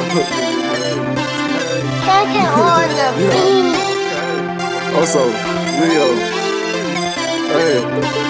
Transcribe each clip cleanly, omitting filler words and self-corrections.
on the beat. Also, Leo. Hey.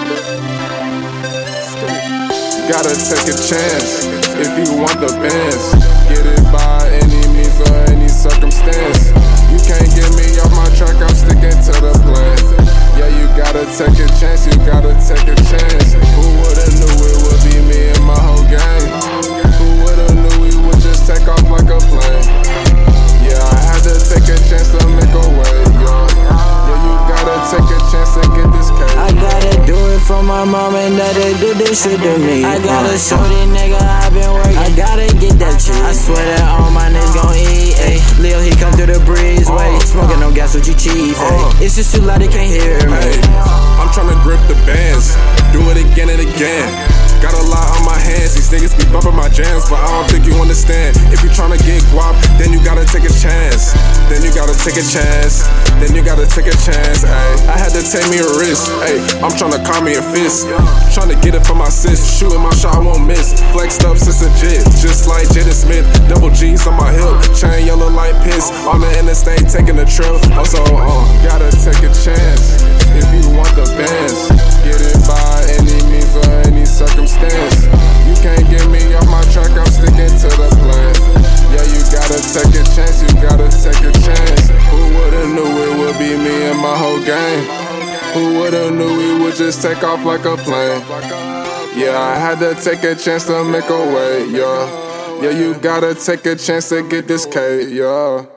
Gotta take a chance if you want the bands. Get it by any means or any circumstance. You can't get me off my track, I'm sticking to the plan. Yeah, you gotta take a chance, you gotta take a chance. Who would've knew it would be me and my whole gang? Who would've knew we would just take off like a plane? Yeah, I had to take a chance to make a way, yeah, you gotta take a chance to get this cake. I gotta do it for my mom and daddy do this shit to me. I gotta show these nigga I been working. I gotta get that shit. I swear that all my niggas gon' eat, ayy. Lil, he come through the breezeway. Smoking on gas with you chief, ayy. It's just too loud, they can't hear me. I'm tryna grip the bands, do it again and again. Got a lot on my hands, these niggas be bumping my jams, but I don't think you understand. If you tryna get guap, then you gotta take a chance. Then you gotta take a chance. Then you gotta take a chance, ayy. I had to take me a risk, ayy. I'm tryna call me a fist. Tryna get it for my sis, shooting my shot, I won't miss. Flexed up since a jit, just like Jaden Smith. Double G's on my hip, chain yellow like piss. On the interstate, taking a trip. Also, gotta take a chance if you want the bands. Get it by any means or any circumstance. You can't get me off my track, I'm sticking to the plan. Yeah, you gotta take a chance, you gotta take a chance. Who would've knew it would be me and my whole gang? Who would've knew we would just take off like a plane? Yeah, I had to take a chance to make a way, yeah. Yeah, you gotta take a chance to get this cake, yeah.